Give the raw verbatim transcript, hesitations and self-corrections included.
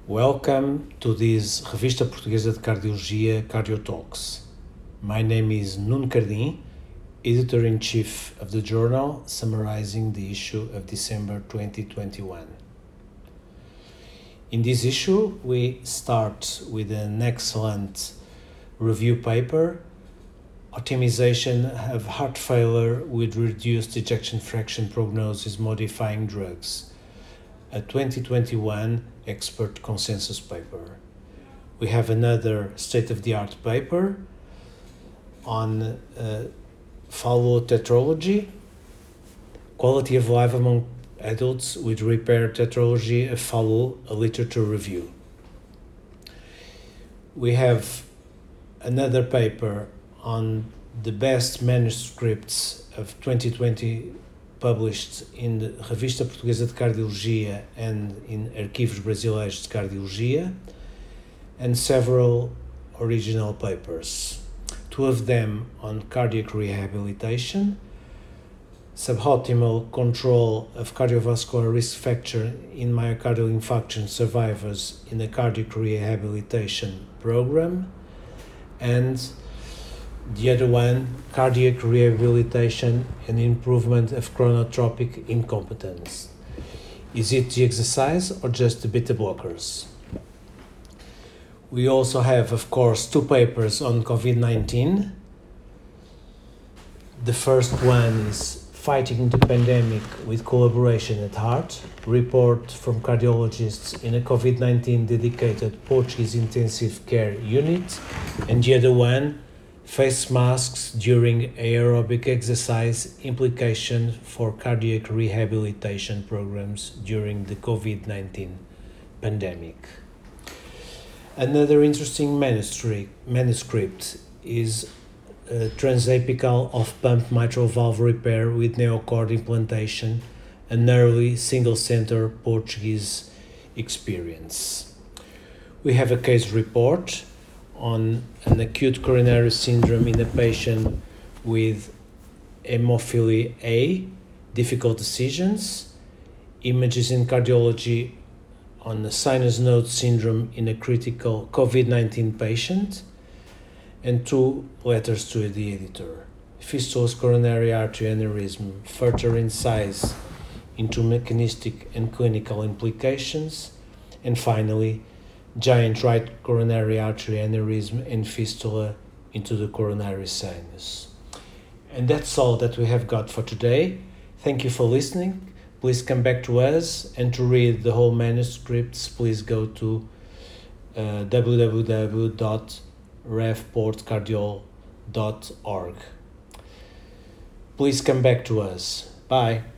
Welcome to this Revista Portuguesa de Cardiologia Cardio Talks. My name is Nuno Cardim, Editor-in-Chief of the journal, summarizing the issue of December twenty twenty-one. In this issue, we start with an excellent review paper, Optimization of Heart Failure with Reduced Ejection Fraction Prognosis Modifying Drugs, a twenty twenty-one expert consensus paper. We have another state-of-the-art paper on uh, Fallot tetralogy, quality of life among adults with repaired tetralogy of Fallot, a literature review. We have another paper on the best manuscripts of twenty twenty published in the Revista Portuguesa de Cardiologia and in Arquivos Brasileiros de Cardiologia, and several original papers, two of them on cardiac rehabilitation, suboptimal control of cardiovascular risk factor in myocardial infarction survivors in a cardiac rehabilitation program, and the other one, cardiac rehabilitation and improvement of chronotropic incompetence. Is it the exercise or just the beta blockers? We also have, of course, two papers on COVID nineteen. The first one is Fighting the Pandemic with Collaboration at Heart, report from cardiologists in a COVID nineteen dedicated Portuguese intensive care unit, and the other one, Face masks during aerobic exercise, implication for cardiac rehabilitation programs during the COVID nineteen pandemic. Another interesting manuscript, manuscript is uh, transapical off-pump mitral valve repair with neocord implantation, an early single-center Portuguese experience. We have a case report on an acute coronary syndrome in a patient with hemophilia A, difficult decisions, images in cardiology on a sinus node syndrome in a critical COVID nineteen patient, and two letters to the editor. Fistulous coronary artery aneurysm, further insights into mechanistic and clinical implications, and finally, giant right coronary artery aneurysm and fistula into the coronary sinus. And that's all that we have got for today. Thank you for listening. Please come back to us, and to read the whole manuscripts, please go to uh, w w w dot revportcardiol dot org. Please come back to us. Bye.